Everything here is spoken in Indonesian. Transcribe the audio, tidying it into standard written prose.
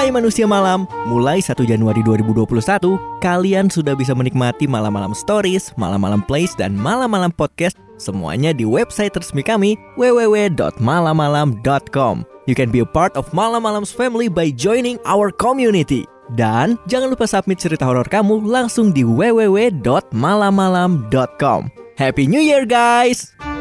Hai manusia malam, mulai 1 Januari 2021, kalian sudah bisa menikmati malam-malam stories, malam-malam plays, dan malam-malam podcast semuanya di website resmi kami www.malamalam.com. You can be a part of Malam Malam's family by joining our community. Dan jangan lupa submit cerita horor kamu langsung di www.malamalam.com. Happy New Year guys!